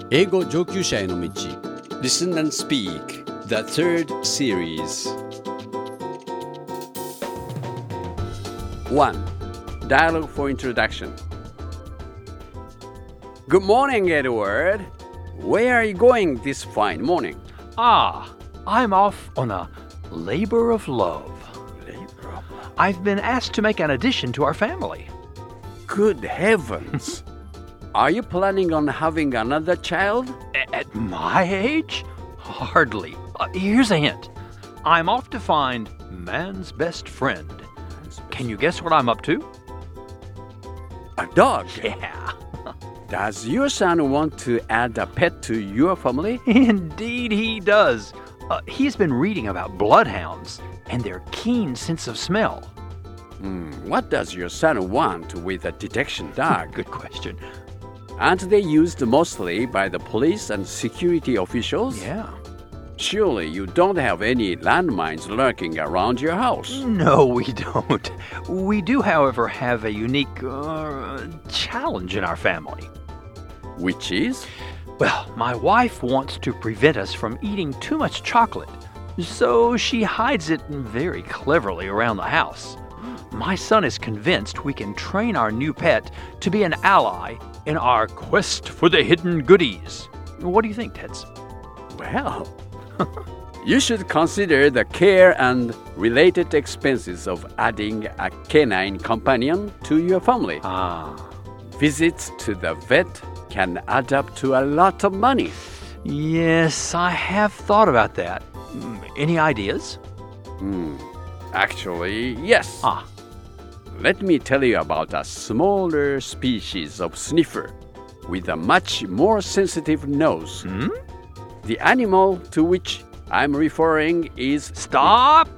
英語上級者への道 Listen and Speak, the third series. 1. Dialogue for introduction. Good morning, Edward. Where are you going this fine morning? I'm off on a labor of love. I've been asked to make an addition to our family. Good heavens. Are you planning on having another child? At my age? Hardly. Here's a hint. I'm off to find man's best friend. Can you guess what I'm up to? A dog? Yeah. Does your son want to add a pet to your family? Indeed he does. He's been reading about bloodhounds and their keen sense of smell. What does your son want with a detection dog? Good question. Aren't they used mostly by the police and security officials? Yeah. Surely you don't have any landmines lurking around your house. No, we don't. We do, however, have a unique challenge in our family. Which is? Well, my wife wants to prevent us from eating too much chocolate, so she hides it very cleverly around the house. My son is convinced we can train our new pet to be an ally in our quest for the hidden goodies. What do you think, Teds? Well, you should consider the care and related expenses of adding a canine companion to your family. Visits to the vet can add up to a lot of money. Yes, I have thought about that. Any ideas? Actually, yes. Let me tell you about a smaller species of sniffer with a much more sensitive nose. The animal to which I'm referring is... Stop!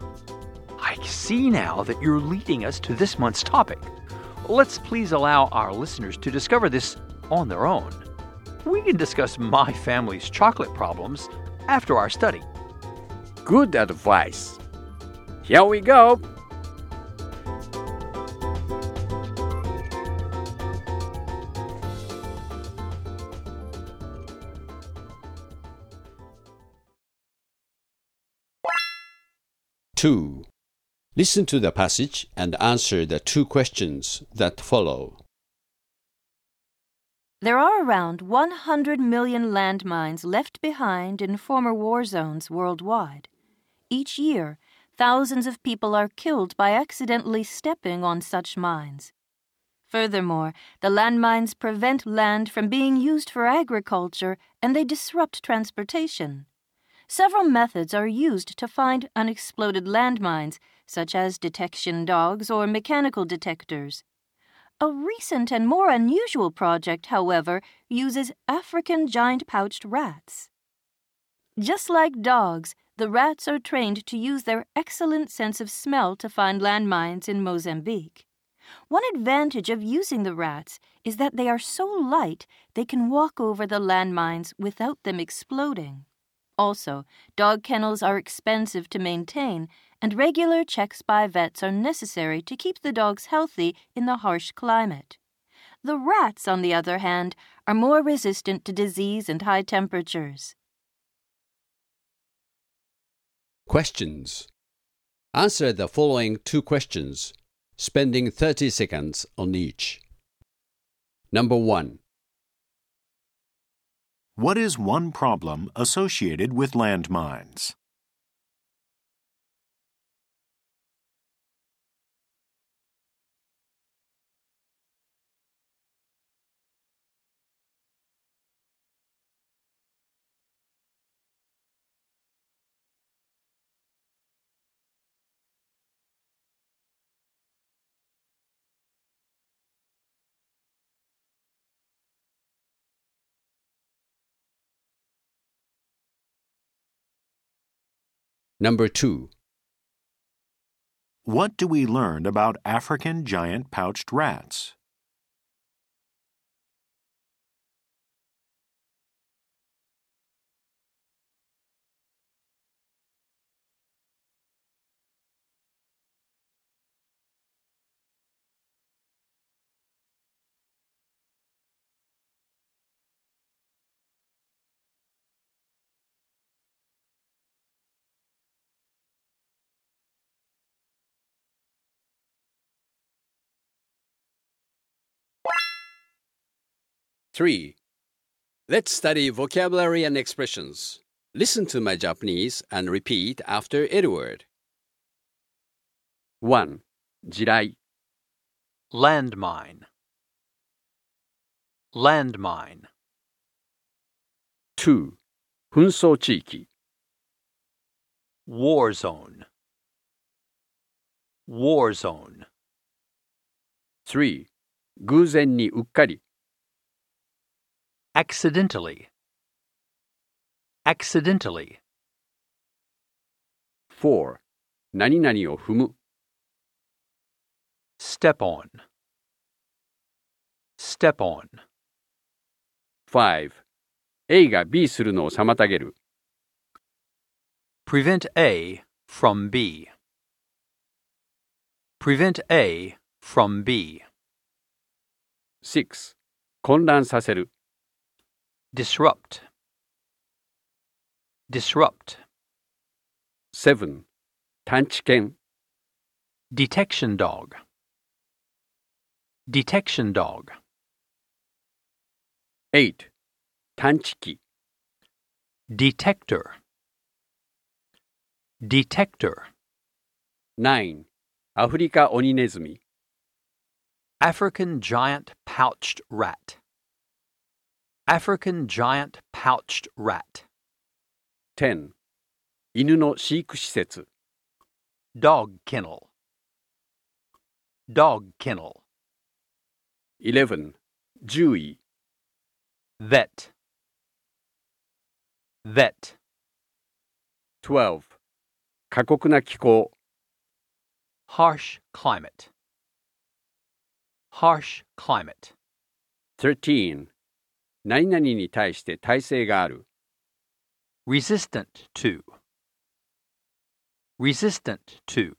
I see now that you're leading us to this month's topic. Let's please allow our listeners to discover this on their own. We can discuss my family's chocolate problems after our study. Good advice. Here we go. Two. Listen to the passage and answer the two questions that follow. There are around 100 million landmines left behind in former war zones worldwide. Each year, thousands of people are killed by accidentally stepping on such mines. Furthermore, the landmines prevent land from being used for agriculture and they disrupt transportation. Several methods are used to find unexploded landmines, such as detection dogs or mechanical detectors. A recent and more unusual project, however, uses African giant-pouched rats. Just like dogs, the rats are trained to use their excellent sense of smell to find landmines in Mozambique. One advantage of using the rats is that they are so light they can walk over the landmines without them exploding. Also, dog kennels are expensive to maintain, and regular checks by vets are necessary to keep the dogs healthy in the harsh climate. The rats, on the other hand, are more resistant to disease and high temperatures. Questions. Answer the following two questions, spending 30 seconds on each. Number 1. What is one problem associated with landmines? Number 2. What do we learn about African giant-pouched rats? 3. Let's study vocabulary and expressions. Listen to my Japanese and repeat after Edward. 1. 地雷 Landmine. Landmine. 2. 紛争地域 War zone. War zone. 3. 偶然にうっかり Accidentally. Accidentally. 4. 何々を踏む Step on. Step on. 5. A が B するのを妨げる Prevent A from B. Prevent A from B. 6. 混乱させる Disrupt. Disrupt. 7. 探知犬 Detection dog. Detection dog. 8. 探知機 Detector. Detector. 9. アフリカオニネズミ African giant pouched rat. African giant pouched rat. 10. 犬の飼育施設 Dog kennel. Dog kennel. 11. 獣医 Vet. Vet. 12. 過酷な気候 Harsh climate. Harsh climate. 13. 何々に対して耐性がある Resistant to. Resistant to.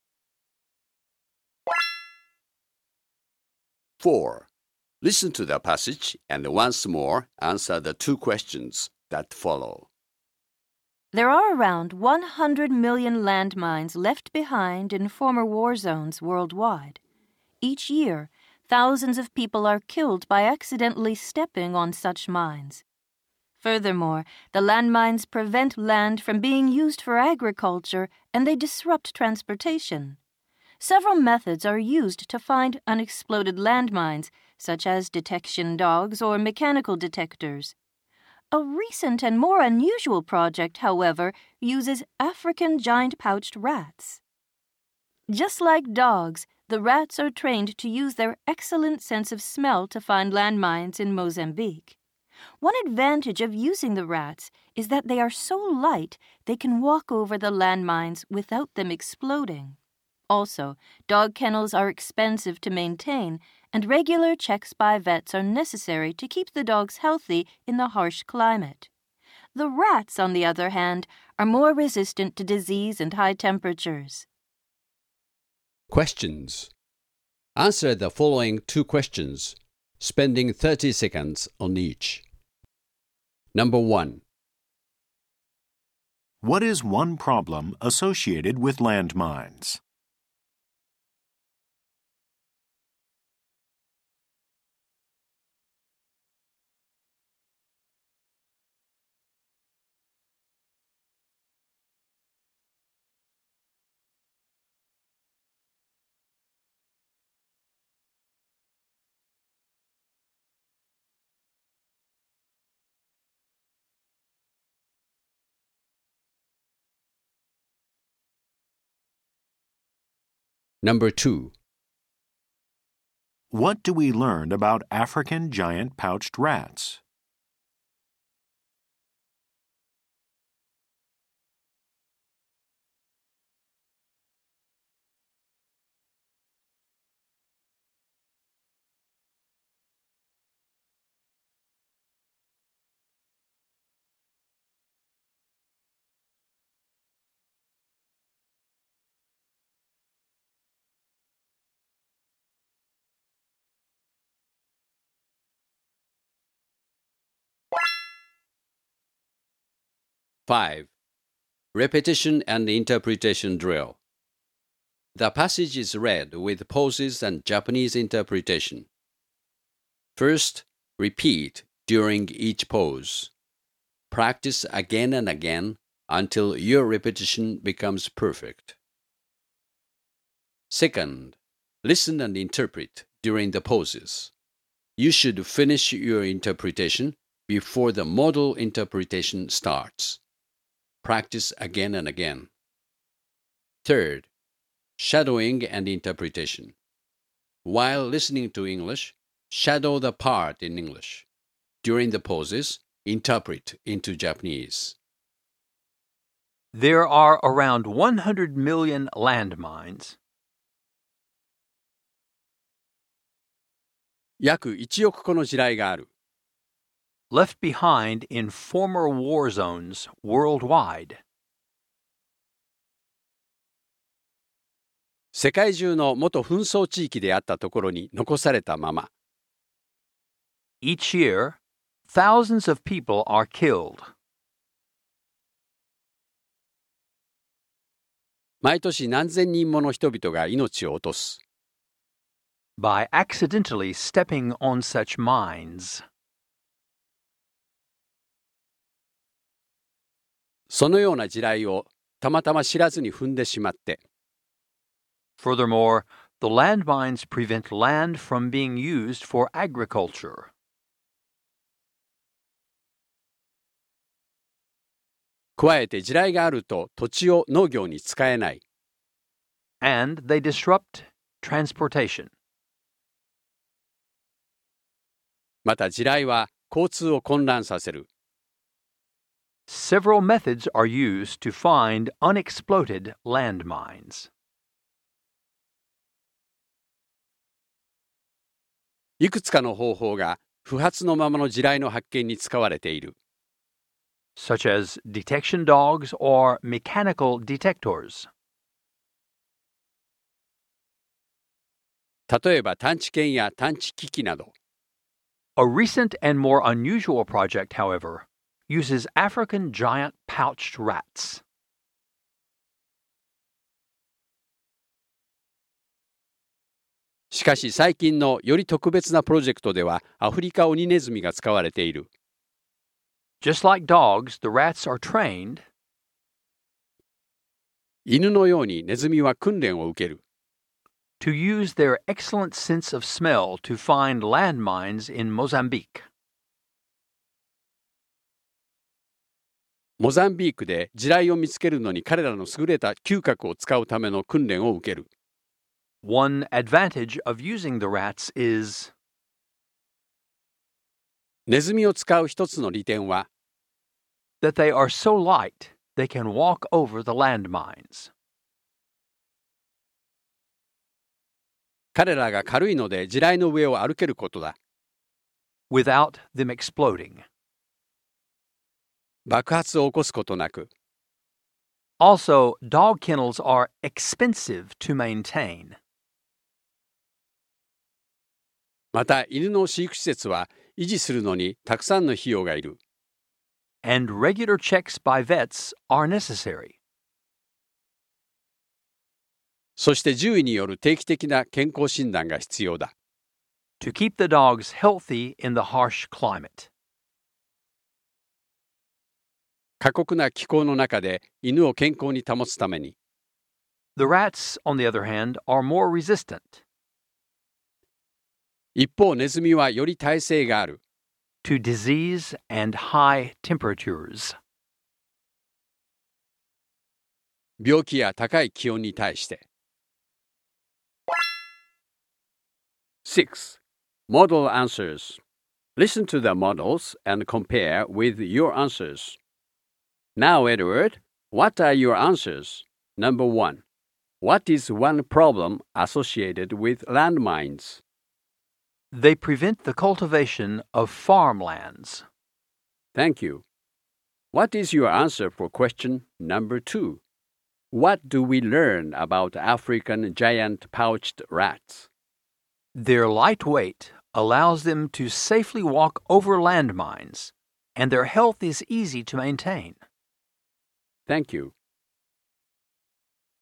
4. Listen to the passage and once more answer the two questions that follow. There are around 100 million landmines left behind in former war zones worldwide. Each year, thousands of people are killed by accidentally stepping on such mines. Furthermore, the landmines prevent land from being used for agriculture and they disrupt transportation. Several methods are used to find unexploded landmines, such as detection dogs or mechanical detectors. A recent and more unusual project, however, uses African giant-pouched rats. Just like dogs, the rats are trained to use their excellent sense of smell to find landmines in Mozambique. One advantage of using the rats is that they are so light they can walk over the landmines without them exploding. Also, dog kennels are expensive to maintain, and regular checks by vets are necessary to keep the dogs healthy in the harsh climate. The rats, on the other hand, are more resistant to disease and high temperatures. Questions. Answer the following two questions, spending 30 seconds on each. Number 1. What is one problem associated with landmines? Number 2. What do we learn about African giant pouched rats? Five. Repetition and interpretation drill. The passage is read with pauses and Japanese interpretation. First, Repeat during each pose. Practice again and again until your repetition becomes perfect. Second, listen and interpret during the poses. You should finish your interpretation before the model interpretation starts. Practice again and again. Third, shadowing and interpretation. While listening to English, shadow the part in English. During the poses, interpret into Japanese. There are around 100 million landmines. 約1億個の地雷がある。 Left behind in former war zones worldwide. 世界中の元紛争地域であったところに残されたまま。 Each year, thousands of people are killed. 毎年何千人もの人々が命を落とす。 By accidentally stepping on such mines. そのような地雷をたまたま知らずに踏んでしまって。 Furthermore, the landmines prevent land from being used for agriculture. 加えて地雷があると土地を農業に使えない。 And they disrupt transportation. また地雷は交通を混乱させる。 Several methods are used to find unexploded landmines. いくつかの方法が不発のままの地雷の発見に使われている。 Such as detection dogs or mechanical detectors. 例えば探知犬や探知機器など。 A recent and more unusual project, however, uses African giant pouched rats. しかし最近のより特別なプロジェクトではアフリカオニネズミが使われている。 Just like dogs, the rats are trained 犬のようにネズミは訓練を受ける。 to use their excellent sense of smell to find landmines in Mozambique. モザンビークで地雷を見つけるのに彼らの優れた嗅覚を使うための訓練を受ける。 One advantage of using the rats is ネズミを使う一つの利点は that they are so light they can walk over the landmines. 彼らが軽いので地雷の上を歩けることだ。 without them exploding. 爆発を起こすことなく。 Also, dog kennels are expensive to maintain. また犬の飼育施設は維持するのにたくさんの費用がいる。 And regular checks by vets are necessary. そして獣医による定期的な健康診断が必要だ。 To keep the dogs healthy in the harsh climate. 過酷な気候の中で犬を健康に保つために。 The rats, on the other hand, are more resistant. 一方ネズミはより耐性がある。 To disease and high temperatures. 病気や高い気温に対して。6. Model answers. Listen to the models and compare with your answers. Now, Edward, what are your answers? Number 1. What is one problem associated with landmines? They prevent the cultivation of farmlands. Thank you. What is your answer for question number 2? What do we learn about African giant pouched rats? Their light weight allows them to safely walk over landmines, and their health is easy to maintain. Thank you.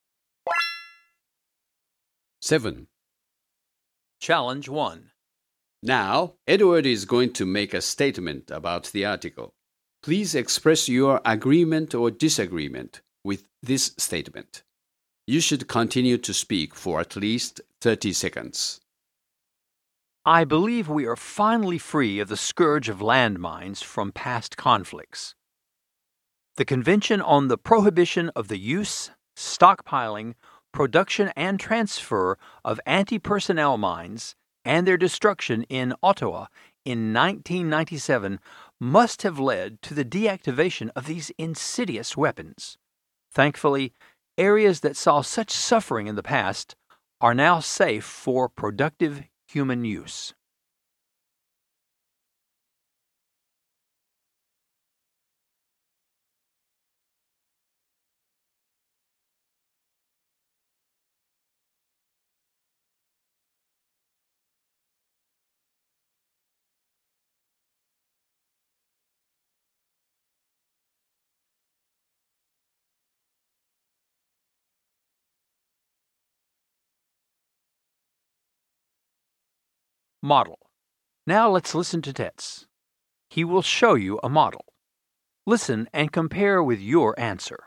7. Challenge 1. Now, Edward is going to make a statement about the article. Please express your agreement or disagreement with this statement. You should continue to speak for at least 30 seconds. I believe we are finally free of the scourge of landmines from past conflicts. The Convention on the Prohibition of the Use, Stockpiling, Production and Transfer of Anti-Personnel Mines and their destruction in Ottawa in 1997 must have led to the deactivation of these insidious weapons. Thankfully, areas that saw such suffering in the past are now safe for productive human use. Model. Now let's listen to Tetz. He will show you a model. Listen and compare with your answer.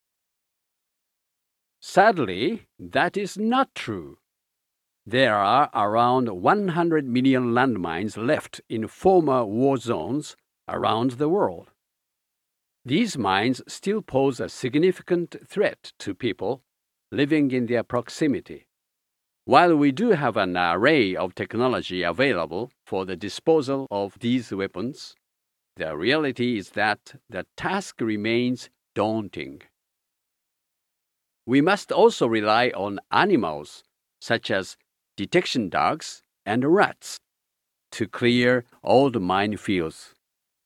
Sadly, that is not true. There are around 100 million landmines left in former war zones around the world. These mines still pose a significant threat to people living in their proximity. While we do have an array of technology available for the disposal of these weapons, the reality is that the task remains daunting. We must also rely on animals, such as detection dogs and rats, to clear old minefields.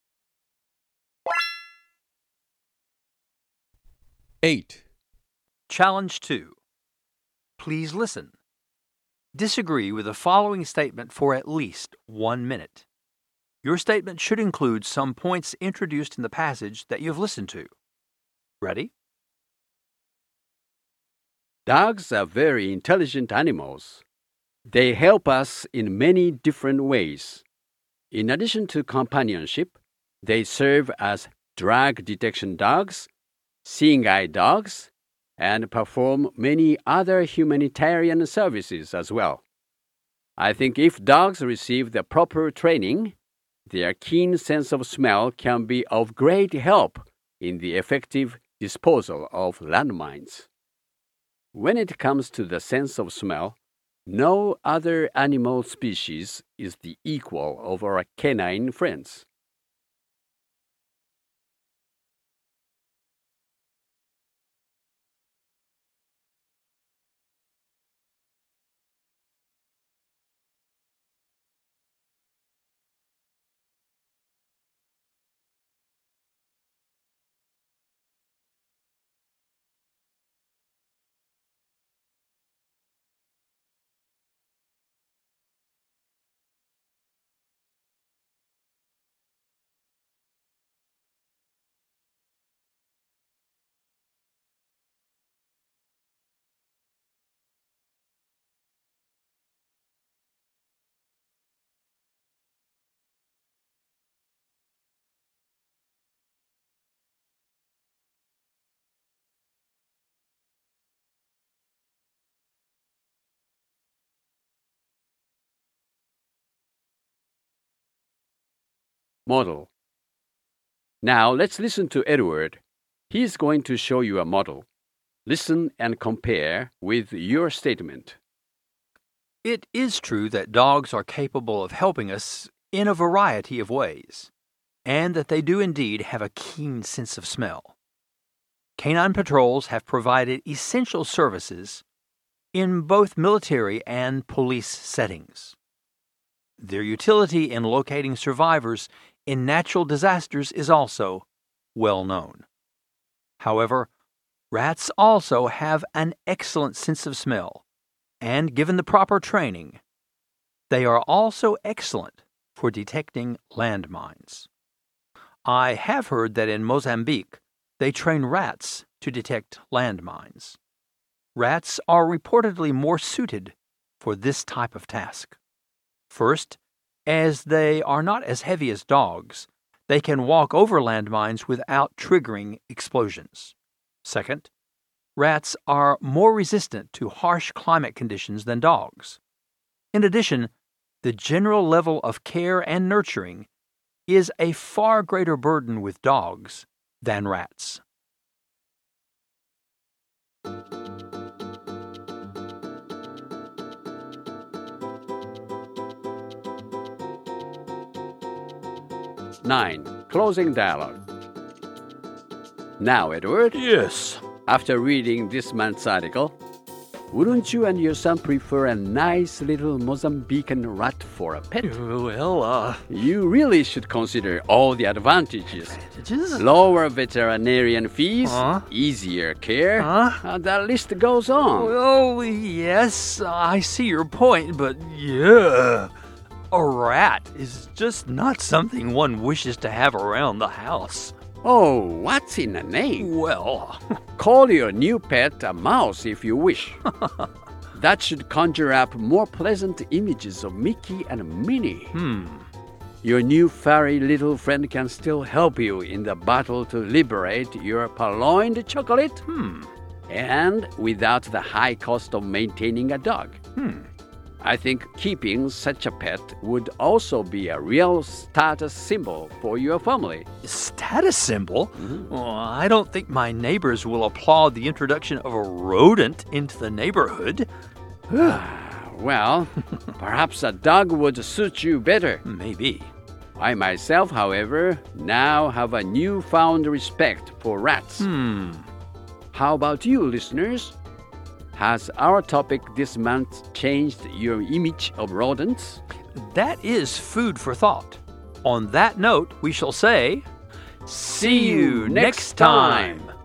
8. Challenge 2. Please listen. Disagree with the following statement for at least 1 minute. Your statement should include some points introduced in the passage that you've listened to. Ready? Dogs are very intelligent animals. They help us in many different ways. In addition to companionship, they serve as drug detection dogs, seeing eye dogs, and perform many other humanitarian services as well. I think if dogs receive the proper training, their keen sense of smell can be of great help in the effective disposal of landmines. When it comes to the sense of smell, no other animal species is the equal of our canine friends. Model. Now let's listen to Edward. He is going to show you a model. Listen and compare with your statement. It is true that dogs are capable of helping us in a variety of ways, and that they do indeed have a keen sense of smell. Canine patrols have provided essential services in both military and police settings. Their utility in locating survivors in natural disasters is also well known. However, rats also have an excellent sense of smell, and given the proper training, they are also excellent for detecting landmines. I have heard that in Mozambique, they train rats to detect landmines. Rats are reportedly more suited for this type of task. First, as they are not as heavy as dogs. They can walk over landmines without triggering explosions. Second, rats are more resistant to harsh climate conditions than dogs. In addition, the general level of care and nurturing is a far greater burden with dogs than rats. Nine. Closing dialogue. Now, Edward, Yes. after reading this month's article, wouldn't you and your son prefer a nice little Mozambican rat for a pet? Well, You really should consider all the advantages. advantages? Lower veterinarian fees, Huh? easier care, Huh? the list goes on. Oh, yes, I see your point, but yeah, a rat is just not something one wishes to have around the house. Oh, what's in a name? Well, Call your new pet a mouse if you wish. That should conjure up more pleasant images of Mickey and Minnie. Your new furry little friend can still help you in the battle to liberate your purloined chocolate. And without the high cost of maintaining a dog. I think keeping such a pet would also be a real status symbol for your family. status symbol? Well, I don't think my neighbors will applaud the introduction of a rodent into the neighborhood. Well, perhaps a dog would suit you better. Maybe. I myself, however, now have a newfound respect for rats. How about you, listeners? Has our topic this month changed your image of rodents? That is food for thought. On that note, we shall say, see you next time.